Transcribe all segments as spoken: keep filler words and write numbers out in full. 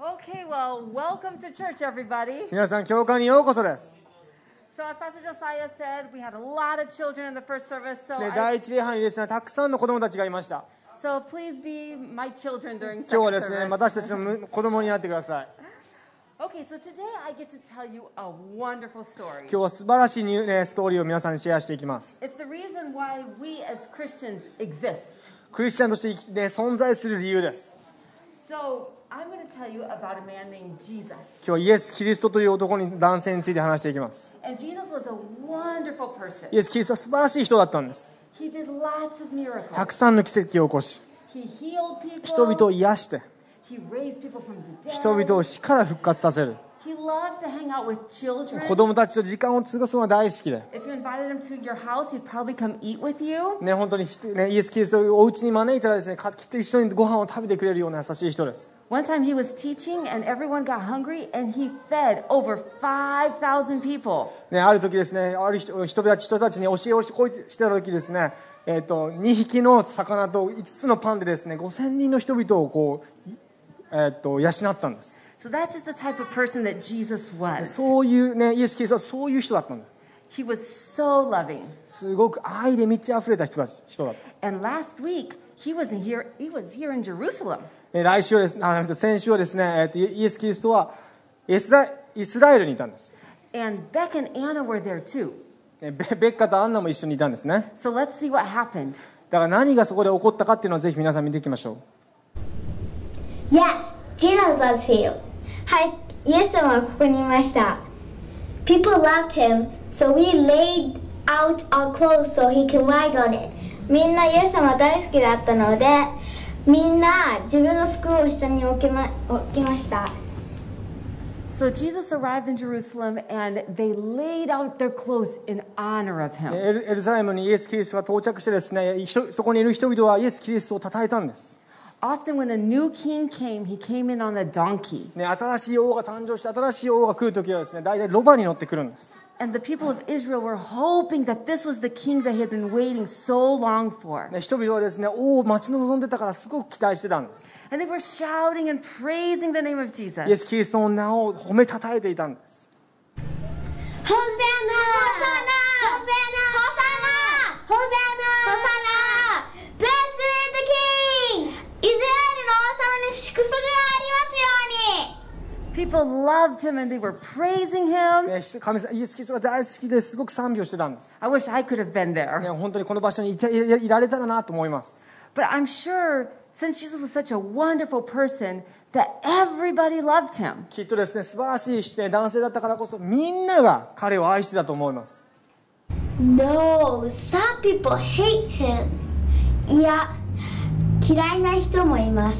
Okay, well, welcome to church, everybody. 皆さん、教会にようこそです。 So, as Pastor Josiah said, we had a lot of children in the first service. So, ね、 I, 第一礼拝にですね、たくさんの子供たちがいました。 so please be my children during 今日は second ですね、 service. 私たちの子供になってください。 Okay, so today I get to tell you a wonderful story. 今日は素晴らしいニュー、ね、ストーリーを皆さんにシェアしていきます。 It's the reason why we as Christians exist. クリスチャンとして生きて、ね、存在する理由です。 So, I'm going to tell you about a man named Jesus. 今日はイエス・キリストという男に男性について話していきます。 And Jesus was a wonderful person. イエス・キリストは素晴らしい人だったんです。 He did lots of たく miracles. さんの奇跡を起こし、 He healed 人々を people. 癒して、 He raised people from the 人 dead. 々を死から復活させる。 He loved to hang out with children. 子供たちと時間を過ごすのが大好きで、 If you invited him to your house, he'd probably come eat with you. ね、本当に、ね、イエス・キリストをお家に招いたらですね、かきっと一緒にご飯を食べてくれるような優しい人です。 One time he was teaching and everyone got hungry and he fed over five thousand people. ね、ある時ですね、ある人人たち人たちに教えをしてた時ですね、えー、とにひきの魚といつつのパンでですね、ごせんにんの人々をこう、えー、と養ったんです。 So that's just the type of person that Jesus was. そういう、ね、イエス・キリストはそういう人だったんだ。 He was so loving. すごく愛で満ち溢れた人たち人だった。 And last week he was in here. He was here in Jerusalem. えー来週はですね、あ先週はですね、えー、とイエス・キリストはイスライスラエルにいたんです。 And Beck and Anna were there too. ベベッカとアンナも一緒にいたんですね。 So let's see what happened. だから何がそこで起こったかっていうのをぜひ皆さん見ていきましょう。 Yes, Jesus was here. はい、イエス様はここにいました。People loved him, so we laid out our clothes so he can ride on it. みんなイエス様大好きだったので、みんな自分の服を下に置きま、置きました。 So Jesus arrived in Jerusalem and they laid out their clothes in honor of him. エルエルサレムにイエス・キリストが到着してですね、人そこにいる人々はイエス・キリストを称えたんです。 Often when a new king came, he came in on a donkey. ね、新しい王が誕生して新しい王が来るときはですね、大体ロバに乗ってくるんです。 And the people of Israel were hoping that this was the king they had been waiting so long for. ね、人々はですね、王を待ち望んでたからすごく期待してたんです。 And they were shouting and praising the name of イエ Jesus. ス・キリストの名を褒めたたえていたんです。 ホサナ！ホサナ！ホサナ！ホサナ！ホサナ！ Blessed is the King! イスラエルの王様に祝福がありますように。 People loved him and they were praising him. ね、神様イエス・キリストが大好きですごく賛美をしてたんです。 I wish I could have been ね、 there. 本当にこの場所にいていいられたらなと思います。 But I'm sure since Jesus was such a wonderful person that everybody loved him. きっとですね、素晴らしい、ね、男性だったからこそみんなが彼を愛してたと思います。 No, some people hate him. いや、嫌いな人もいます。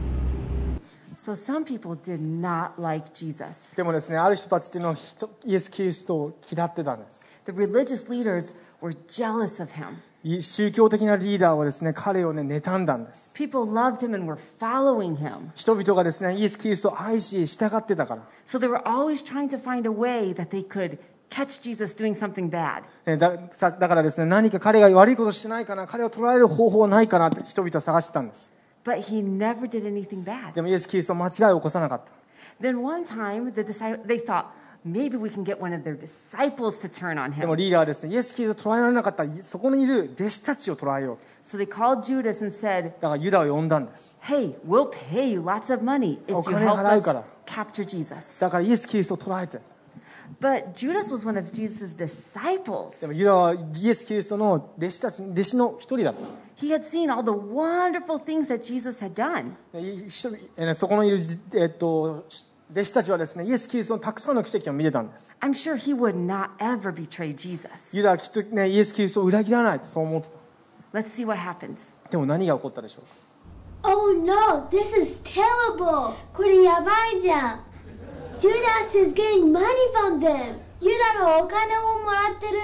So some people did not like Jesus. でもですね、ある人たちっていうのは人イエス・キリストを嫌ってたんです。 The religious leaders were jealous of him. 宗教的なリーダーはですね、彼をね、妬んだんです。 People loved him and were following him. 人々がですね、イエス・キリストを愛し従ってたから。 So they were always trying to find a way that they could catch Jesus doing something bad. ね、だ, さだからですね、何か彼が悪いことしてないかな、彼を捉える方法はないかなって人々は探してたんです。 But he never did anything bad. でもイエス・キリストは間違いを起こさなかった。 Then one time, the disci- they thought, maybe we can get one of their disciples to turn on でも him. リーダーはですね、イエス・キリストを捉えられなかったそこにいる弟子たちを捉えよう。 So they called Judas and said, だからユダを呼んだんです。 hey, we'll pay you lots of money if you お金 help 払う us から。 capture Jesus. だからイエス・キリストを捉えて。 But Judas was one of Jesus' disciples. でもユダはイエス・キリストの弟子たち弟子の一人だった。 He had seen all the wonderful things that Jesus had done. 一人えーそこにいる、えっと、弟子たちはですね、イエス・キリストのたくさんの奇跡を見てたんです。 I'm sure he would not ever betray Jesus. ユダはきっと、ね、イエス・キリストを裏切らないとそう思ってた。 Let's see what happens. でも何が起こったでしょうか。 Oh no, this is terrible. これやばいじゃん。Judas is getting money from them. ユダがお金をもらってる。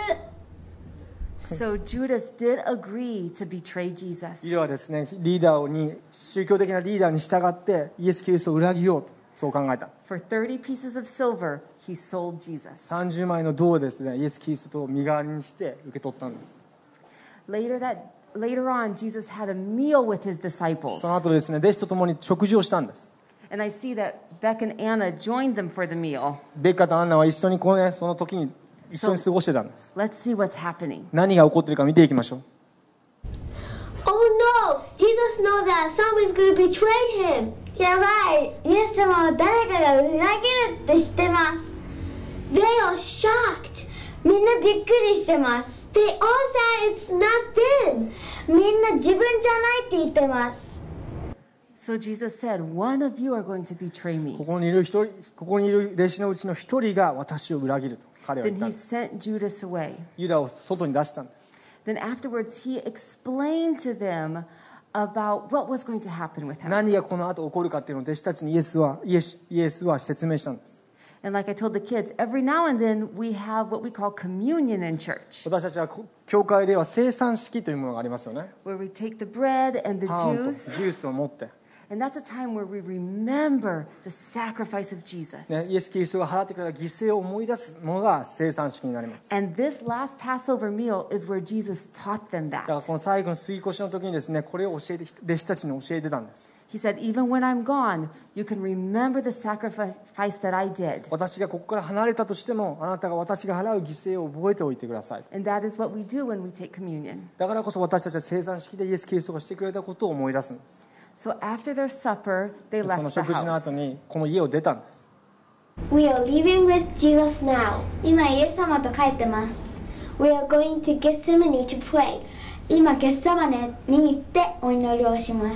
So Judas did agree to betray Jesus. ユダはですね、リーダーに宗教的なリーダーに従ってイエス・キリストを裏切ろうとそう考えた。 For thirty pieces of silver, he sold Jesus. さんじゅうまいの銅をですね、イエス・キリストと身代わりにして受け取ったんです。 Later that later on, Jesus had a meal with his disciples. その後ですね、弟子と共に食事をしたんです。 And I see that Beck and Anna joined them for the meal. ベッカとアンナは一緒にこの、ね、その時に一緒に過ごしてたんです。 Let's see what's happening. 何が起こっているか見ていきましょう。 Oh no! Jesus knows that someone's going to betray him. やばい。イエス様は誰かが裏切るって知ってます。They are shocked. みんなびっくりしてます。They all said it's not them. みんな自分じゃないって言ってます。 So Jesus said, one of you are going to betray me. ここにいる一人、ここにいる弟子のうちの一人が私を裏切ると彼は言 Then ったん he です。 sent Judas away. ユダを外に出したんです。 Then afterwards, he explained to them about what was going to happen with him. 何がこの後起こるかっていうのを弟子たちにイエスはイエス、イエスは説明したんです。 And like I told the kids, every now and then we have what we call communion in church, 私たちは教会では聖餐式というものがありますよね。 where we take the bread and the パンと juice. ジュースを持って、 And that's a time where we remember the sacrifice of Jesus. ね、イエス・キリストが払ってくれた犠牲を思い出すものが聖餐式になります。 And this last Passover meal is where Jesus taught them だから that. この最後の杉越の時にですね、これを教えて弟子たちに教えてたんです。 He said, even when I'm gone, you can remember the sacrifice that I did. 私がここから離れたとしても、あなたが私が払う犠牲を覚えておいてください。 And that is what we do when we take communion. だからこそ私たちは聖餐式でイエス・キリストがしてくれたことを思い出すんです。 So after their supper, they その left the 食事の house. 後にこの家を出たんです。 We are leaving with Jesus now. 今イエス様と帰ってます。We are going to Gethsemane to pray. 今ゲッサマネに行ってお祈りをします。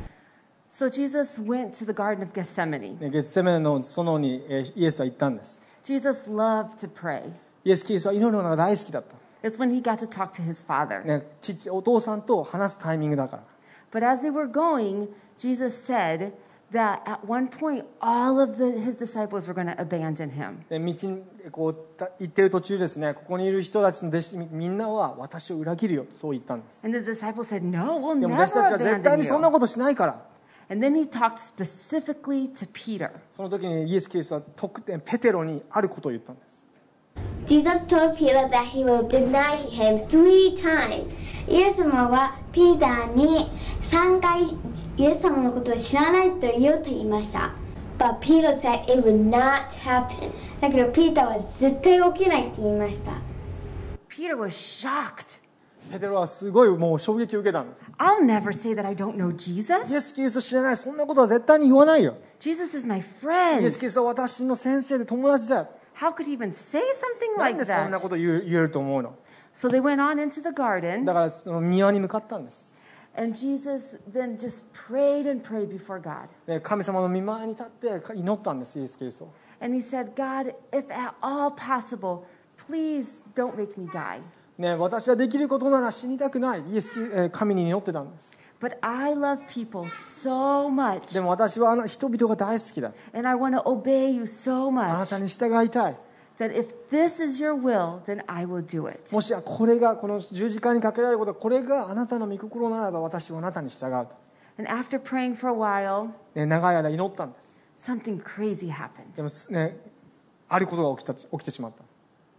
So Jesus went to the Garden of Gethsemane. ゲッセメネの園にえーイエスは行ったんです。 Jesus loved to pray. イエス・キリストは祈るのが大好きだった。 It's when he got to talk to his father. ね、父、お父さんと話すタイミングだから。 But as they were going, Jesus said that at one point, all of the, his disciples were going to abandon him. で道にこうた行ってる途中ですね、ここにいる人たちの弟子みんなは私を裏切るよ、そう言ったんです。 And the disciples said, no, we'll でも never 私たちは絶対 abandon にそんな you. ことしないから。 And then he talked specifically to Peter. その時にイエス・キリストは特典ペテロにあることを言ったんです。 Jesus told Peter that he will deny him three times. イエス様はピーターにさんかいイエス様のことを知らないと言うと言いました。But Peter said it would not happen. だけどピーターは絶対起きないって言いました。 Peter was shocked. ペテロはすごいもう衝撃を受けたんです。 I'll never say that I don't know イエ Jesus. ス・キリスト知らない、そんなことは絶対に言わないよ。 Jesus is my イエ friend. ス・キリストは私の先生で友達だよ。 How could he even say something なん like でそんな that? こと言う言えると思うの。 So they went on into the garden, だからその庭に向かったんです。 and Jesus then just prayed and prayed before God. で神様の御前に立って祈ったんです、イエス・キリスト。 And he said, God, if at all possible, please don't make me die. ね、私はできることなら死にたくない。イエス・キリえー神に祈ってたんです。 But I love people so much, でも私はあの人々が大好きだ。 and I want to obey you so あな much たに従いたい。 that if this is your will, then I will do it. もしこれがこの十字架にかけられること、これがあなたの御心ならば私はあなたに従うと。 And after praying for a while, ね、長い間祈ったんです。 something crazy happened. でも、ね、あることが起きた起きてしまった。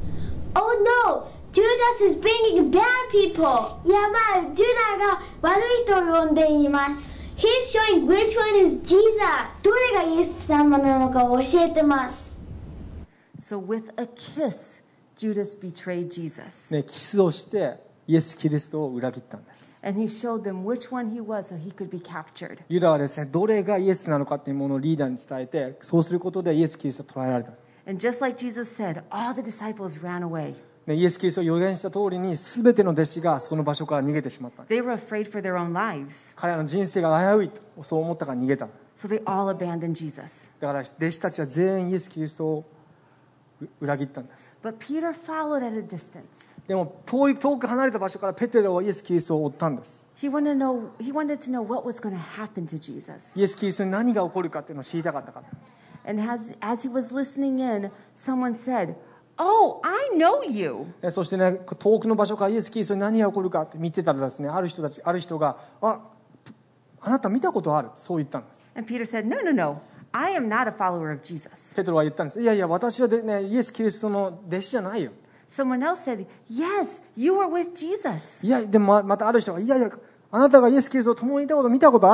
Oh no! Judas is bringing bad people! やばい、ジュダが悪い人を呼んでいます。He's showing which one is Jesus! どれがイエス様なのかを教えてます。 So with a kiss, Judas betrayed Jesus. ね、キスをしてイエス・キリストを裏切ったんです。 And he showed them which one he was so he could be captured. ユダはですね、どれがイエスなのかというものをリーダーに伝えて、そうすることでイエス・キリストを捕らえられた。 And just like Jesus said, all the disciples ran away. ね、イエス・キリストを予言した通りに、すべての弟子がその場所から逃げてしまった。 They were afraid for their own lives. 彼らの人生が危ういと、そう思ったから逃げた。 So they all abandoned Jesus. だから弟子たちは全員イエス・キリストを裏切ったんです。 But Peter followed at a distance. でも遠い遠く離れた場所からペテロはイエス・キリストを追ったんです。 He wanted to know, he wanted to know what was going to happen to Jesus. イエス・キリストに何が起こるかっていうのを知りたかったから。 And as, as he was listening in, someone said, Oh, I know you. でそしてね、遠くの場所からイエス・キリストに何が起こるかって見てたらですね、ある人たち、ある人が、あ、あなた見たことある、そう言ったんです。 And Peter said, No, no, no. I am not a follower of Jesus. ペテロは言ったんです。いやいや、私はで、ね、イエス・キリストの弟子じゃないよ。 Someone else said, Yes, you were with Jesus. いや、でもまたある人が、いやいや、あなたがイエス・キリストを共にいたこと見たことあるよ。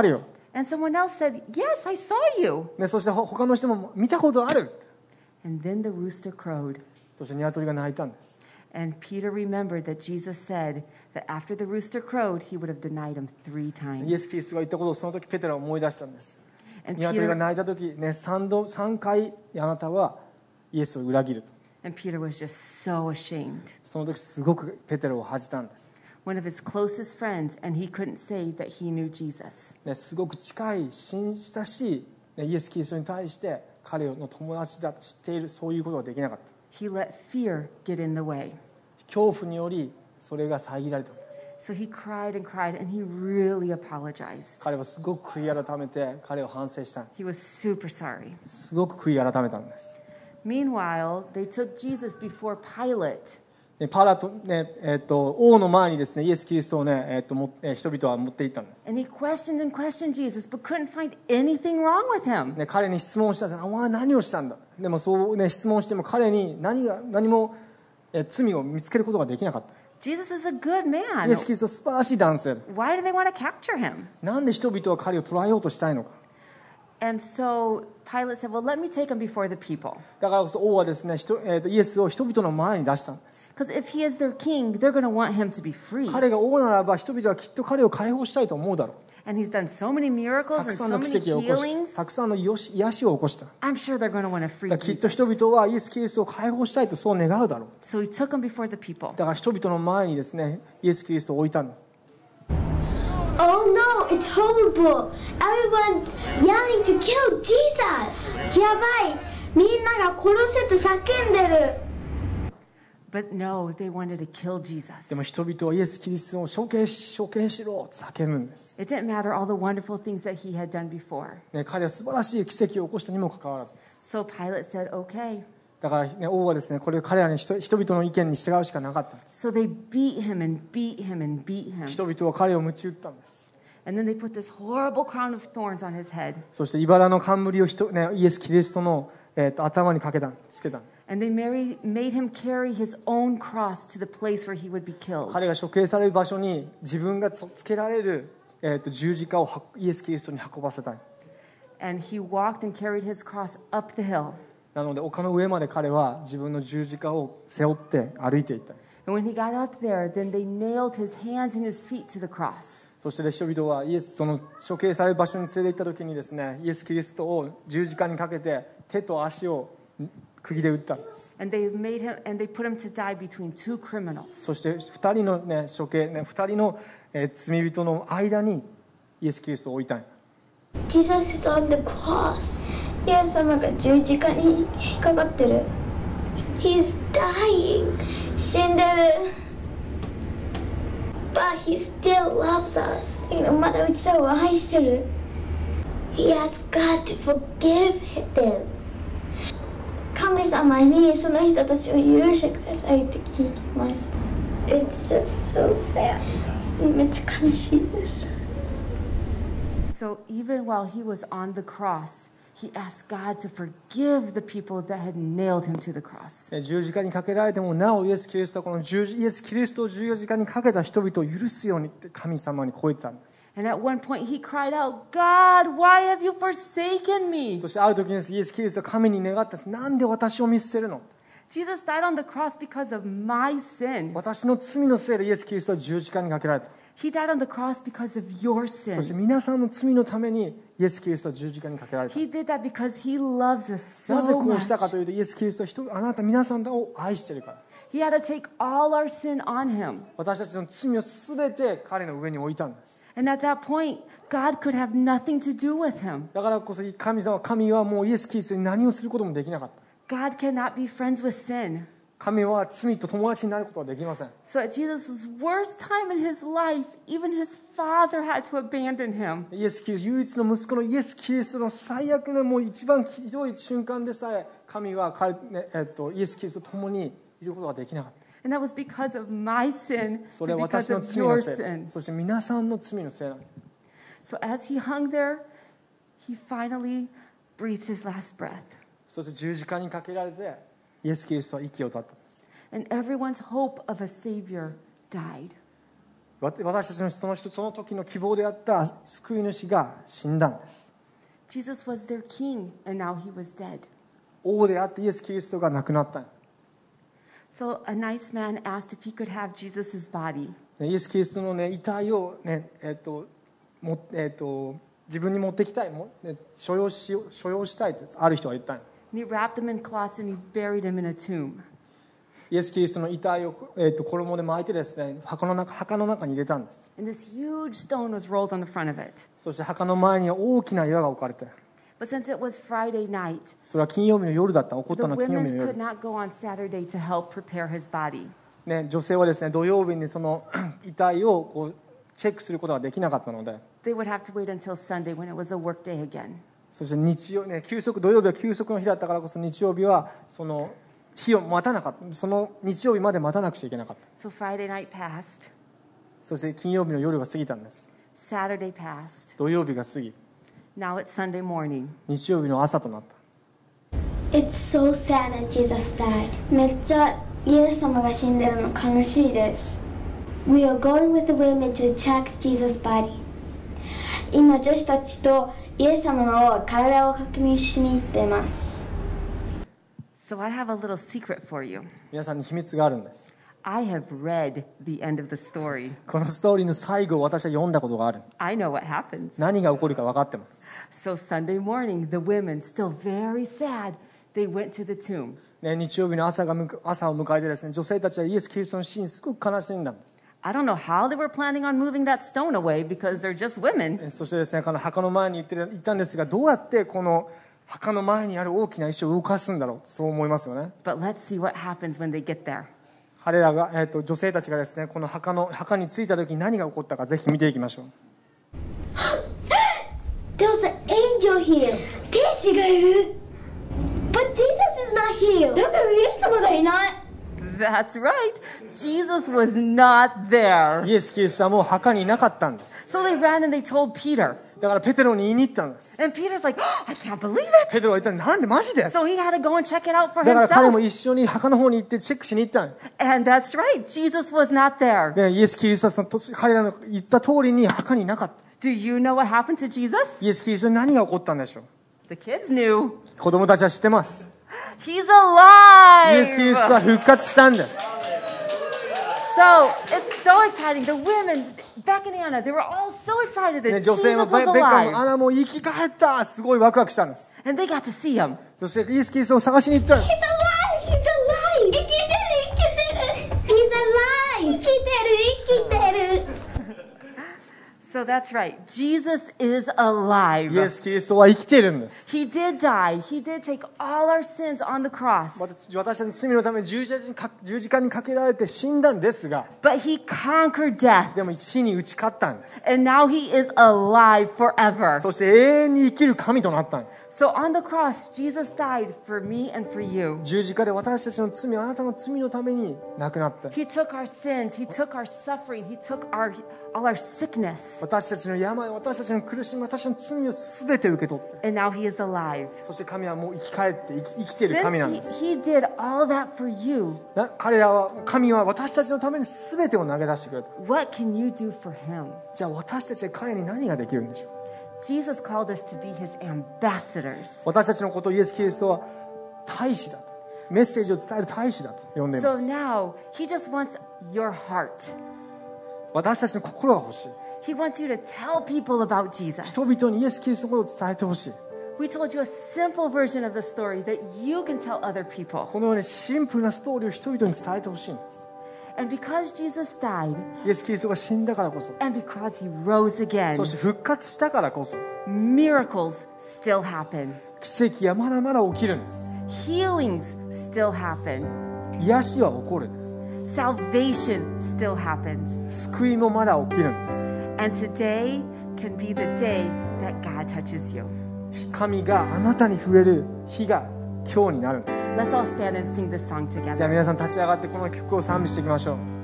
And someone else said, Yes, I saw you. でそして他の人も見たことある。 And then the rooster crowed. そして鶏が鳴いたんです。 And Peter remembered that Jesus said that after the rooster crowed, he would have denied him three イエ times. ス・キリストが言ったことをその時ペテロは思い出したんです。 And 鶏が Peter, 鳴いた時ね、3, 度3回あなたはイエスを裏切ると。 and Peter was just so ashamed. その時すごくペテロを恥じたんです。 One of his closest friends, and he couldn't say that he knew Jesus. ね、すごく近い親しい、ね、イエス・キリストに対して彼の友達だと知っている、そういうことができなかった。 He let fear get in the way. 恐怖によりそれが遮られたんです。 So he cried and cried, and he really apologized. 彼はすごく悔い改めて彼を反省した。 He was super sorry. すごく悔い改めたんです。 Meanwhile, they took Jesus before Pilate. でパラト、ねえー、と王の前にですねイエス・キリストを、ねえー、ともえー人々は持っていったんです。 And he questioned and questioned Jesus, but couldn't find anything wrong with him. ね、彼に質問したんです。お前は何をしたんだ。でもそう、ね、質問しても彼に何が何も、えー罪を見つけることができなかった。 Jesus is a good man. イエス・キリストは素晴らしい男性だ。 Why do they want to capture him? なんで人々は彼を捕らえようとしたいのか。 And so Pilate said, Well, let me take him before the people. だからこそ王はですね、人えー、とイエスを人々の前に出したんです。 Because if he is their king, they're going to want him to be free. 彼が王ならば人々はきっと彼を解放したいと思うだろう。 And he's done so many miracles た and くさん so の many 奇跡を起こし、 healings. たくさんの癒し癒しを起こした。だか I'm sure they're going to want to free らきっと Jesus. 人々はイエス・キリストを解放したいとそう願うだろう。 So he took him before the people. だから人々の前にですね、イエス・キリストを置いたんです。 Oh no, it's horrible. Everyone's yelling to kill Jesus. やばい。みんなが殺せと叫んでる。 But no, they wanted to kill Jesus. でも人々はイエス・キリストを処刑し、処刑しろと叫ぶんです。 It didn't matter all the wonderful things that he had done before. ね、彼は素晴らしい奇跡を起こしたにもかかわらずです。 So Pilate said, Okay. だから、ね、王はですね、これを彼らに人人々の意見に従うしかなかったんです。 So they beat him and beat him and beat him. 人々は彼を鞭打ったんです。 And then they put this horrible crown of thorns on his head. そして茨の冠を人、ね、イエス・キリストの、えー、と頭にかけたつけた。 And they married, made him carry his own cross to the place where he would be killed. 彼が処刑される場所に自分がつけられる、えー、と十字架をはイエス・キリストに運ばせたい。 And he walked and carried his cross up the hill. なので丘の上まで彼は自分の十字架を背負って歩いていった。 And when he got up there, then they nailed his hands and his feet to the cross. そして人々はイエスその処刑される場所に連れて行った時にですね、イエス・キリストを十字架にかけて手と足を釘で打ったんです。 And they made him and they put him to die between two criminals. そしてふたりの、ね、処刑、ね、ふたりの、えー罪人の間にイエス・キリストを置いたん。 Jesus is on the cross. イエス様が十字架に引っかかってる。He's dying. 死んでる。But he still loves us. まだうちらを愛してる。He asks God to forgive them. 神様にその人たちを許してくださいって聞きました。It's just so sad. めっちゃ悲しいです。 So even while he was on the cross, he asked God to forgive the people that had nailed him to the cross. 十字架にかけられてもなおイエス・キリストはこの十字イエス・キリストを十字架にかけた人々を許すようにって神様に超えてたんです。 And at one point he cried out, God, why have you forsaken me? そしてある時にですイエス・キリストは神に願ったんです。なんで私を見捨てるの。 Jesus died on the cross because of my sin. 私の罪のせいでイエス・キリストは十字架にかけられた。 He died on the cross because of your そして sin. 皆さんの罪のためにイエス・キリストは十字架にかけられた。 He did that because he loves us なぜ so こうしたか much. というとイエス・キリストは人あなた皆さんを愛しているから。 He had to take all our sin on him. 私たちの罪をすべて彼の上に置いたんです。 And at that point, God could have nothing to do with him. だからこそ神様神はもうイエス・キリストに何をすることもできなかった。 God cannot be friends with sin. 神は罪と友達になることはできません。 So at Jesus' worst time in his life, even his father had to abandon him. イエス・キリスト唯一の息子のイエス・キリストの最悪なもう一番ひどい瞬間でさえ神は彼、ねえっと、イエス・キリストと共にいることができなかった。 And that was because of my sin それ and は私 because の of 罪の your せい、 sin. そして皆さんの罪のせいなの。 So as he hung there, he finally breathed his last breath. そして十字架にかけられてイエス・キリストは息を絶ったんです。 And everyone's hope of a savior died. 私たちのその人その時の希望であった救い主が死んだんです。 Jesus was their king, and now he was dead. 王であってイエス・キリストが亡くなった。 So a nice man asked if he could have Jesus' body. イエス・キリストの、ね、遺体を、ねえっともえっと、自分に持ってきたい、も、ね、所有し所有したいとある人は言ったん。 And he wrapped him in cloths and he buried him in a tomb. イエス・キリストの遺体を、えっと、衣で巻いてですね、墓の中、墓の中に入れたんです。 And this huge stone was rolled on the front of it. そして墓の前には大きな岩が置かれて、 But since it was Friday night, それは金曜日の夜だった。起こっ the たのは金曜日 women の could 夜、 not go on Saturday to help prepare his body. ね、女性はですね土曜日にその遺体をこうチェックすることができなかったので、 They would have to wait until Sunday when it was a work day again. そして日曜、ね、休息土曜日は休息の日だったからこそ日曜日はその日を待たなかった。その日曜日まで待たなくちゃいけなかった。 So Friday night passed, そして金曜日の夜が過ぎたんです。 Saturday passed, 土曜日が過ぎ、 now it's Sunday morning. 日曜日の朝となった。 It's so sad that Jesus died. めっちゃイエス様が死んでるの悲しいです。We are going with the women to check Jesus' body. 今女子たちとイエス様の体を確認しに行っています。 So I have a little secret for you. 皆さんに秘密があるんです。 I have read the end of the story. このストーリーの最後を私は読んだことがある。 I know what happens. 何が起こるか分かってます。 So Sunday morning, the women, still very sad, they went to the tomb. ね、日曜日の朝がむ朝を迎えてですね、女性たちはイエス・キリストの死にすごく悲しんだんです。 I don't know how they were planning on moving that stone away because they're just women. そしてですね、この墓の前に行って行ったんですが、どうやってこの墓の前にある大きな石を動かすんだろう、そう思いますよね。 But let's see what happens when they get there. 彼らが、えー、と女性たちがですね、この墓の墓に着いた時に何が起こったかぜひ見ていきましょう。 There's an angel here. 天使がいる。But Jesus is not here. だからイエス様がいない。 That's right. Jesus was not there. イエス・キリストはもう墓にいなかったんです。 So they ran and they told Peter. だからペテロに言いに行ったんです。 And Peter's like, oh, I can't believe ペ it. テロは言ったら、なんでマジで？ So he had to go and check it out for だから彼も himself. 一緒に墓の方に行ってチェックしに行ったんです。 And that's right. Jesus was not there. でイエス・キリストはその彼らの言った通りに墓にいなかった。 Do you know what happened to Jesus? イエス・キリストに何が起こったんでしょう。 The kids knew. 子供たちは知ってます。 He's イ alive. エス・キリストは復活したんです。 So it's so exciting. The women, Beck and Anna, they were all so excited ね、 that 女 Jesus 性も was ベベッカも alive. アナも生き返った、すごいワクワクしたんです。 And they got to see him. そしてイエス・キリストを探しに行ったんです。 He's alive! He's alive! 生きてる生きてる He's alive! 生きてる生きてる So that's right. Jesus is alive. イエス・キリストは生きているんです。 He did die. He did take all our sins on the cross. 私私たちの罪のために十字架にか十字架にかけられて死んだんですが、 But he conquered death. でも死に打ち勝ったんです。 And now he is alive forever. そして永遠に生きる神となったんです。 So on the cross, Jesus died for me and for you. 十字架で私たちの罪、あなたの罪のために亡くなった。 He took our sins. He took our suffering. He took our all our sickness. 私たちの病、私たちの苦しみ、私たちの罪をすべて受け取って、 And now he is alive. そして神はもう生き返って生き、生きている Since 神なん he, です。 he did all that for you, な彼らは、神は私たちのためにすべてを投げ出してくれた。 what can you do for him? じゃあ私たちは彼に何ができるんでしょう。 Jesus called us to be his ambassadors. 私たちのことをイエス・キリストは大使だと、メッセージを伝える大使だと呼んでい So ます。 now he just wants your heart. 私たちの心が欲しい。 He wants you to tell people about Jesus. 人々にイエス・キリストのことを伝えてほしい。 We told you a simple version of the story that you can tell other people. このようにシンプルなストーリーを人々に伝えてほしいんです。 And because Jesus died, イエス・キリストが死んだからこそ、 and because he rose again, そして復活したからこそ、 miracles still happen. 奇跡はまだまだ起きるんです。 Healings still happen. 癒しは起こるんです。 Salvation still happens. 救いもまだ起きるんです。 And today can be the day that God touches you. 神があなたに触れる日が今日になるんです。 Let's all stand and sing this song じゃあ together. 皆さん立ち上がってこの曲を賛美していきましょう。